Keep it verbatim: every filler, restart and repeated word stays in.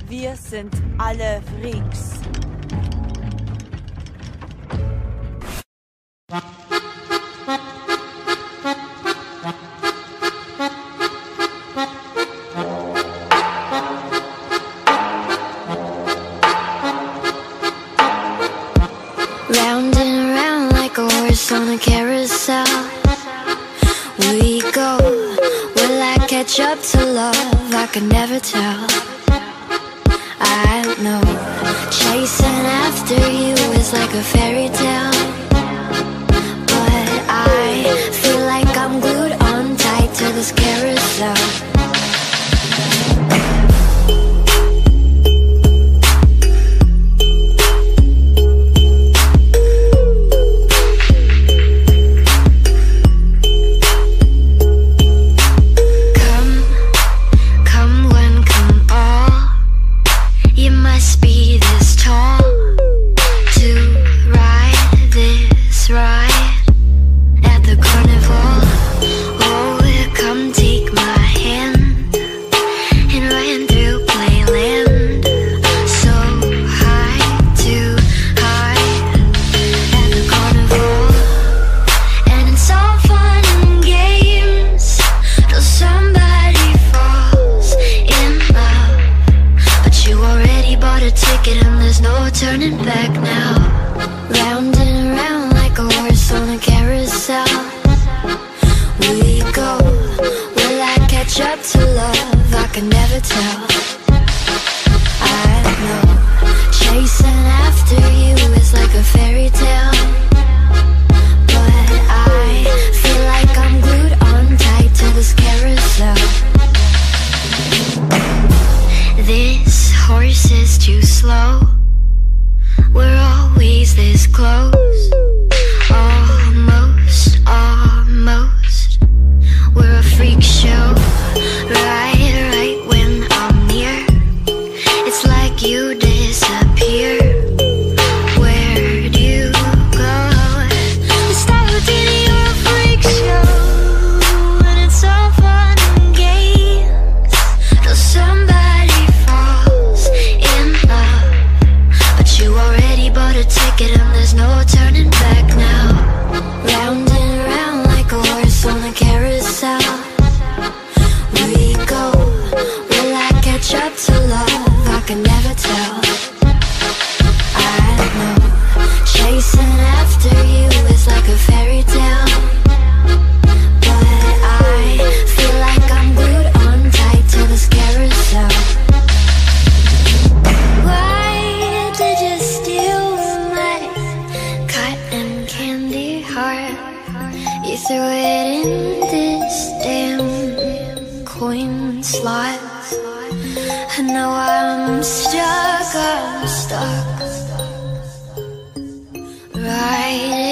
Wir sind alle Freaks. Round and around like a horse on a carousel we go. Will I catch up to love? I can never tell. I know chasing after you is like a fairy tale, but I feel like I'm glued on tight to this carousel. Turning back now. Round and around like a horse on a carousel we go. Will I catch up to love? I can never tell. I know chasing after you is like a fairy tale, but I feel like I'm glued on tight to this carousel. This horse is too slow. We're always this close. Almost, almost. We're a freak show. Right, right when I'm near, it's like you disappear. Where'd you go? It's not routine, you're a freak show, and it's all fun and games till somebody falls in love, but you already bought a ticket and there's no turning back now. Round and around like a horse on a carousel we go. Will I catch up to love? I can never tell. I know chasing after you is like a fairy tale, but I feel like I'm glued on tight to this carousel. Why did you steal my cotton candy heart? You threw it in this damn coin slot, and now I'm stuck, I'm stuck right